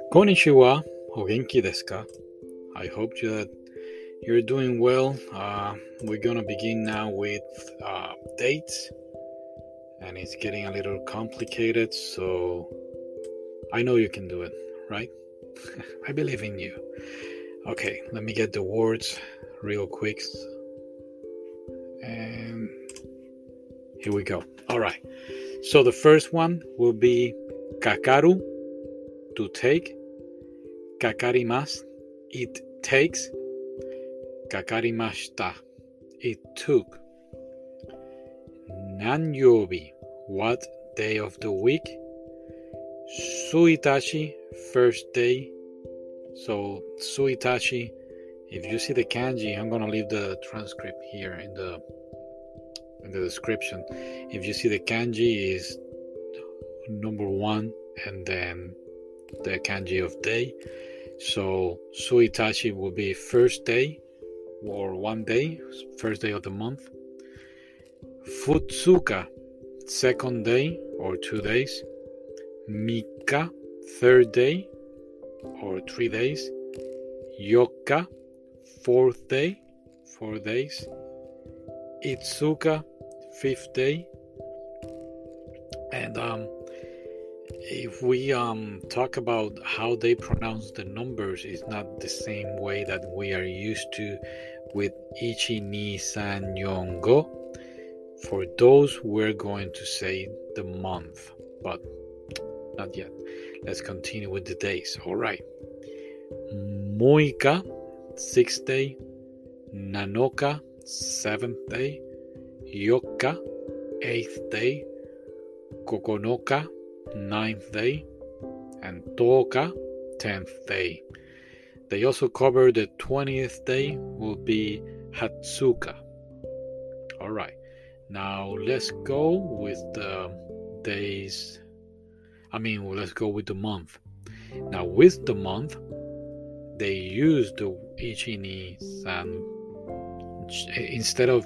Konnichiwa, o genki desu ka? I hope that you're doing well. We're gonna begin now with dates, and it's getting a little complicated, so I know you can do it, right? I believe in you. Okay, let me get the words real quick. And here we go. All right. So the first one will be kakaru, to take. Kakarimasu, it takes. Kakarimashita, it took. Nanyoubi, what day of the week? Suitachi, first day. So suitachi, if you see the kanji, I'm gonna leave the transcript here in the description. If you see the kanji is number 1 and then the kanji of day. So suitachi will be first day or 1 day, first day of the month. Futsuka, second day or 2 days. Mika, third day or 3 days. Yokka, fourth day, 4 days. Itsuka, fifth day. And if we talk about how they pronounce the numbers, it's not the same way that we are used to with ichi, ni, san, yon, go. For those, we're going to say the month, but not yet. Let's continue with the days. All right. Muika, 6th day. Nanoka, 7th day. Yokka, 8th day. Kokonoka, 9th day. And Toka, 10th day. They also cover the 20th day will be Hatsuka. All right. Now let's go with the days. Let's go with the month. Now with the month, they use the ichi, ni, san. Instead of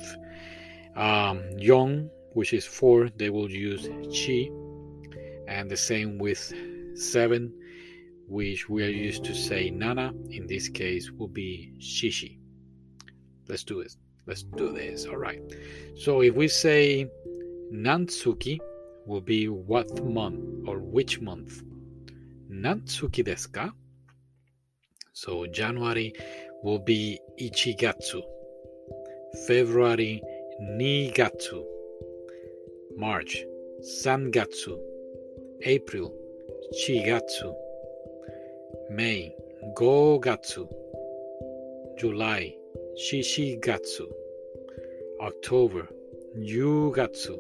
yon, which is 4, they will use chi. And the same with 7, which we are used to say nana. In this case, will be shishi. Let's do it. Let's do this. All right. So if we say Nantsuki, will be what month or which month? Nantsuki desu ka? So January will be Ichigatsu. February, Nigatsu. March, Sangatsu. April, Chigatsu. May, Gogatsu. July, Shishigatsu. October, Yugatsu.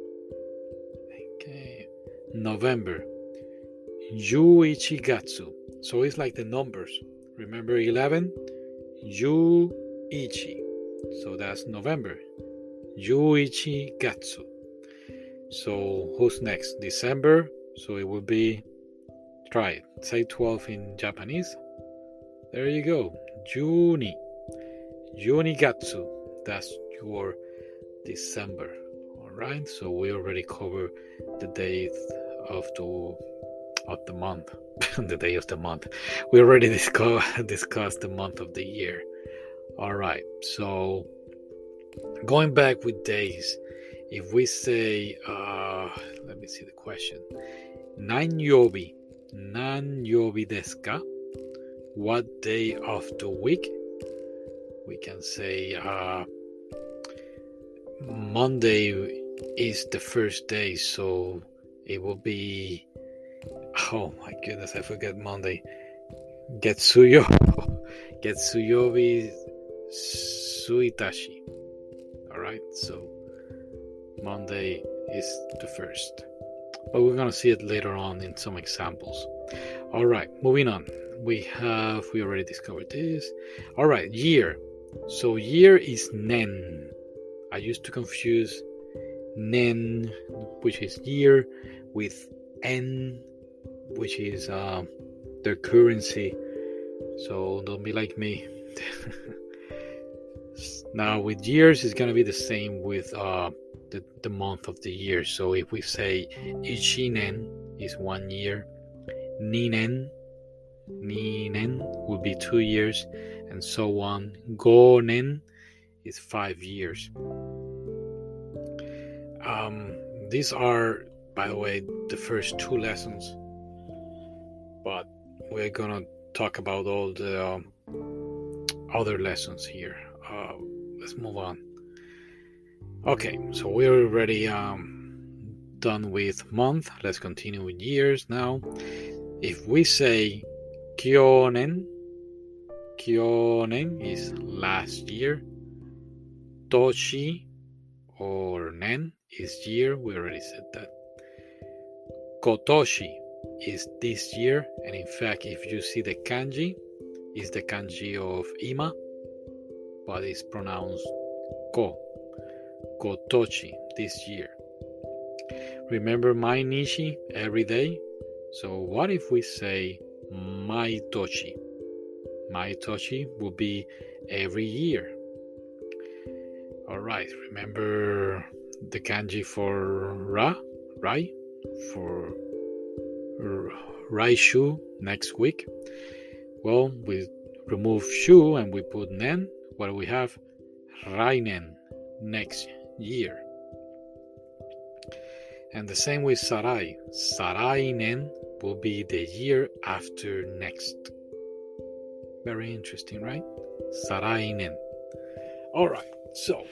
Okay. November, Yuichigatsu. So it's like the numbers. Remember 11? Yuichi. So that's November. Yuichigatsu. So who's next? December. So it will be, try it. Say 12 in Japanese. There you go. Juni. Junigatsu. That's your December. All right. So we already covered the date of the month. The day of the month. We already discussed the month of the year. All right. So going back with days, if we say, let me see the question. Nanyoubi desu ka? What day of the week? We can say Monday is the first day, so it will be, oh my goodness, I forget Monday. Getsuyobi Suitashi. Alright, so Monday is the first. But we're gonna see it later on in some examples. Alright, moving on. We already discovered this. Alright, year. So year is nen. I used to confuse nen, which is year, with en, which is their currency. So don't be like me. Now with years, it's gonna be the same with the month of the year. So if we say Ichinen is 1 year, Ninen Ni-nen will be 2 years, and so on. Go-nen is 5 years. These are, by the way, the first 2 lessons, but we're gonna talk about all the other lessons here. Let's move on. Okay, so we're already done with month. Let's continue with years now. If we say kyonen is last year. Toshi or nen is year. We already said that. Kotoshi is this year, and in fact, if you see the kanji, it's the kanji of ima, but it's pronounced ko. Kotoshi, this year. Remember Mainichi, every day? So what if we say Maitoshi? Maitoshi will be every year. Alright, remember the kanji for Rai? For Raishu next week? Well, we remove shu and we put nen. What do we have? Rainen, next year. And the same with Sarai. Sarainen will be the year after next. Very interesting, right? Sarainen. Alright, so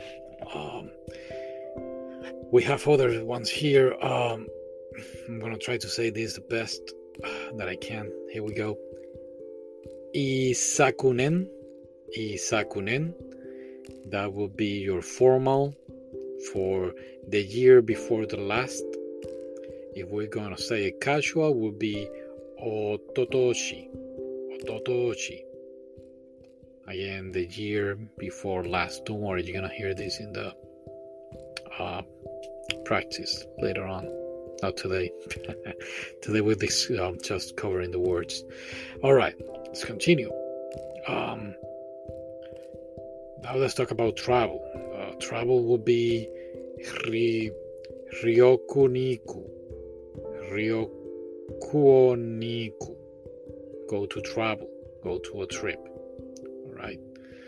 we have other ones here. I'm gonna try to say this the best that I can. Here we go. Isakunen. That will be your formal for the year before the last. If we're gonna say it casual, will be Ototoshi. Again, the year before last. Don't worry, you're gonna hear this in the practice later on. Not today. Today with this just covering the words. Alright, let's continue. Now let's talk about travel. Travel will be Ryokuniku. Go to travel. Go to a trip. Alright.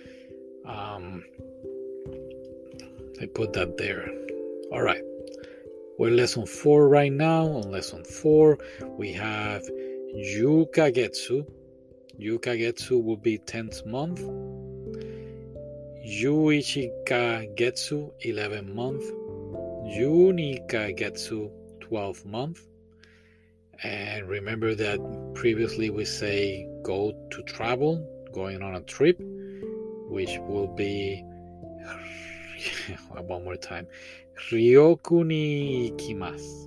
I put that there. Alright. We're lesson 4 right now. On lesson 4, we have Yukagetsu. Yukagetsu will be 10th month. Yuichikagetsu, 11th month. Junikagetsu, 12th month. And remember that previously we say go to travel, going on a trip, which will be one more time. Ryoku ni ikimasu.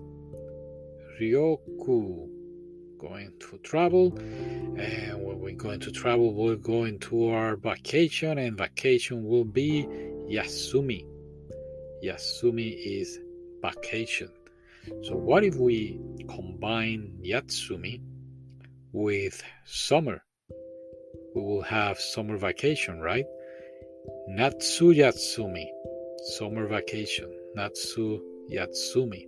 Ryoku, going to travel. And when we're going to travel, we're going to our vacation, and vacation will be Yasumi. Yasumi is vacation. So what if we combine Yatsumi with summer? We will have summer vacation, right? Natsu Yatsumi, summer vacation. Natsu Yatsumi.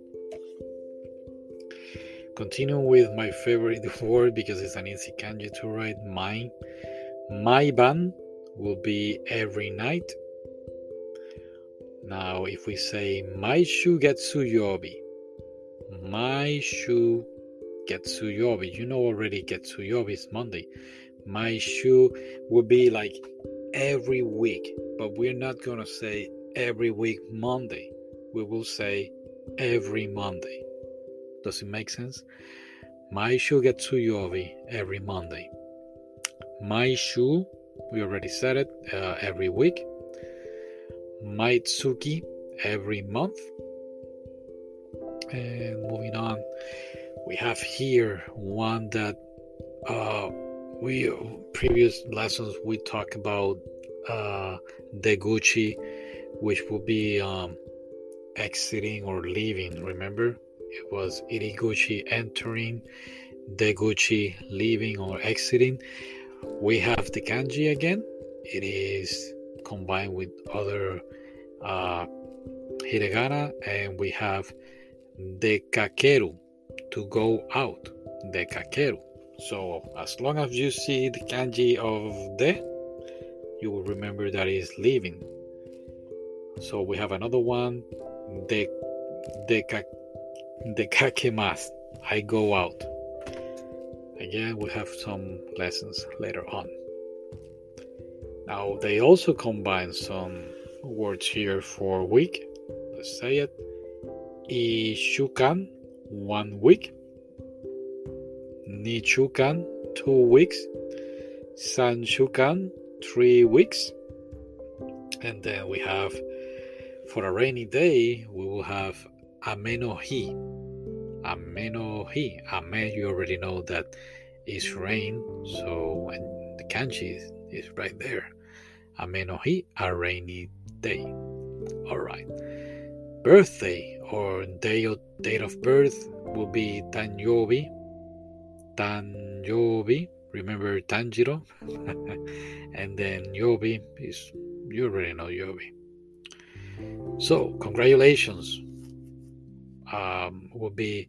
Continue with my favorite word because it's an easy kanji to write. Maiban will be every night. Now, if we say Maishu Getsuyobi, Maishu Getsuyobi, you know already Getsuyobi is Monday. Maishu will be like every week, but we're not going to say every week Monday. We will say every Monday. Does it make sense? Maishu Getsuyobi, every Monday. Maishu, we already said it, every week. Maitsuki, every month. And moving on, we have here one that we previous lessons we talked about Deguchi, which will be exiting or leaving. Remember, it was Iriguchi entering, Deguchi leaving or exiting. We have the kanji again. It is combined with other hiragana, and we have dekakeru, to go out. Dekakeru. So as long as you see the kanji of de, you will remember that is leaving. So we have another one, dekakimasu. I go out. Again, we have some lessons later on. Now they also combine some words here for week. Let's say it. Ishukan, 1 week. Nichukan, 2 weeks. Sanshukan, 3 weeks. And then we have, for a rainy day, we will have ame no hi. Ame no hi. Ame, you already know that is rain. So, and the kanji is right there. Ame no hi, a rainy day. All right. Birthday or date of birth will be Tanyobi. Tanyobi. Remember Tanjiro? And then Yobi is, you already know Yobi. So, congratulations. Will be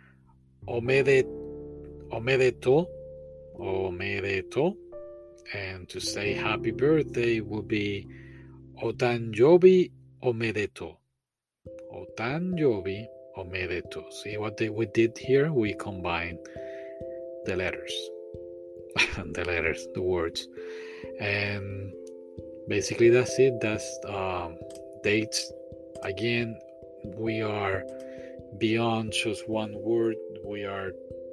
omedeto. And to say happy birthday will be otanjobi omedeto. Otanjobi omedeto. See what we did here? We combined the letters. The words. And basically that's it. That's dates. Again, we are beyond just one word. We are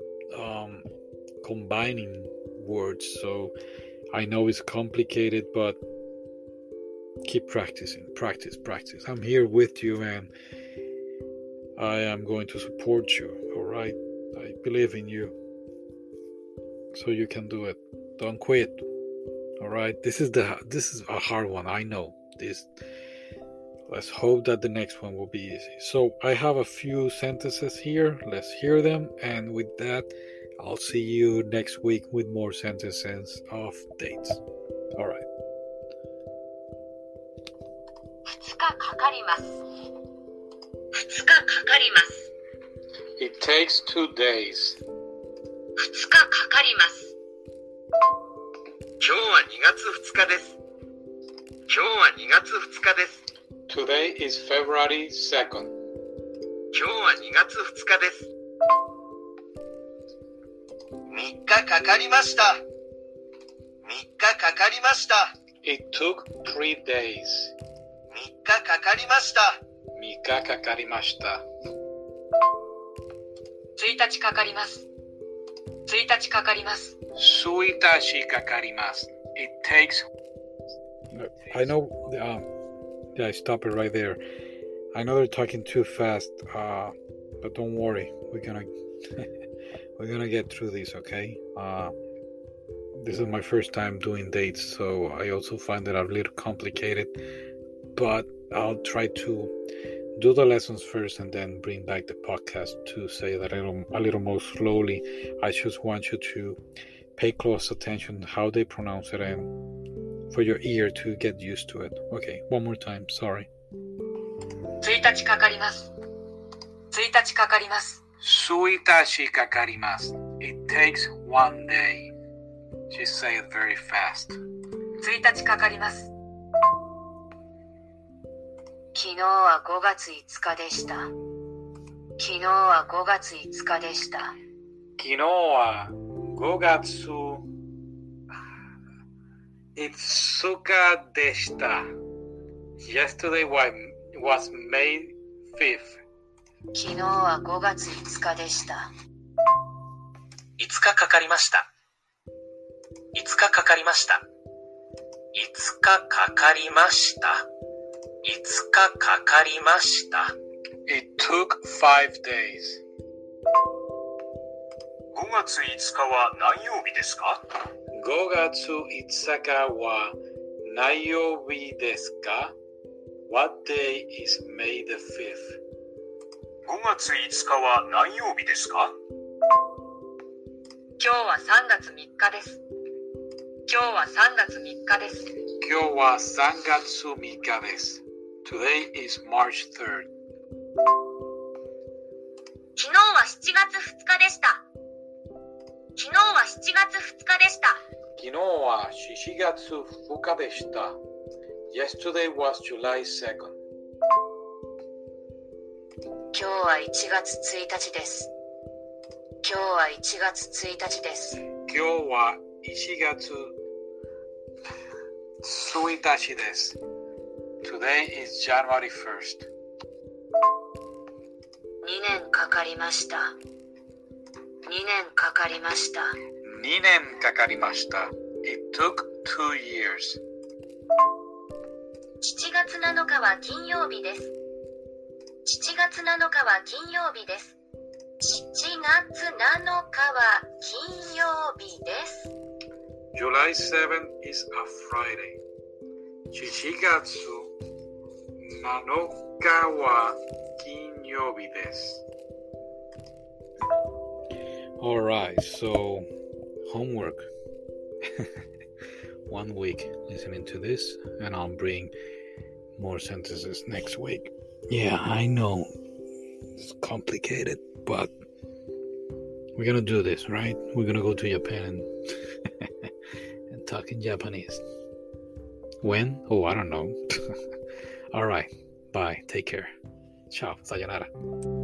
combining words. So I know it's complicated, but keep practicing. Practice. I'm here with you, and I am going to support you. All right, I believe in you, so you can do it. Don't quit. All right, this is a hard one. I know this. Let's hope that the next one will be easy. So I have a few sentences here. Let's hear them, and with that, I'll see you next week with more sentences of dates. All right. 2日かかります。2日かかります。 It takes 2 days. 2日かかります。今日は2月2日です。今日は2月2日です。 Today is February 2nd. 今日は2月2日です。3日かかりました。3日かかりました。 It took 3 days. 3日かかりました。 3日かかりました。 1日かかります。1日かかります。 1日かかります。It takes. I know. Yeah, I stop it right there. I know they're talking too fast, but don't worry. We're gonna get through this, okay? This is my first time doing dates, so I also find it a little complicated. But I'll try to do the lessons first and then bring back the podcast to say that a little more slowly. I just want you to pay close attention how they pronounce it and for your ear to get used to it. Okay, one more time. Sorry. 1日かかります。1日かかります。 1日かかります。It takes 1 day. She say it very fast. 1日かかります。昨日は5月5日でした。昨日は5月5日でした。 昨日は5月5日でした。Yesterday was May 5th. 昨日は5月5日でした。 5日かかりました。5日かかりました。5日かかりました。5日かかりました。 It took 5 days. 5月5日は何曜日ですか？ 5月5日は何曜日ですか？ What day is May the 5th? 5月5日は何曜日ですか？ 今日は3月3日です。今日は3月3日です。 今日は3月3日です。Today is March 3rd. 昨日は7月2日でした。 昨日は7月2日でした。 昨日は4月2日でした。Yesterday was July 2nd. 今日は1月1日です。今日は1月1日です。 今日は1月1日です。Today is January 1st. 2年かかりました。2年かかりました。 2年かかりました。It took 2 years. 7月7日は金曜日です。7月7日は金曜日です。7月7日は金曜日です。 July 7th is a Friday. 7月7日は金曜日です。Alright, so homework. 1 week listening to this, and I'll bring more sentences next week. Yeah, I know. It's complicated, but we're gonna do this, right? We're gonna go to Japan and, and talk in Japanese. When? Oh, I don't know. Alright, bye. Take care. Ciao. Sayonara.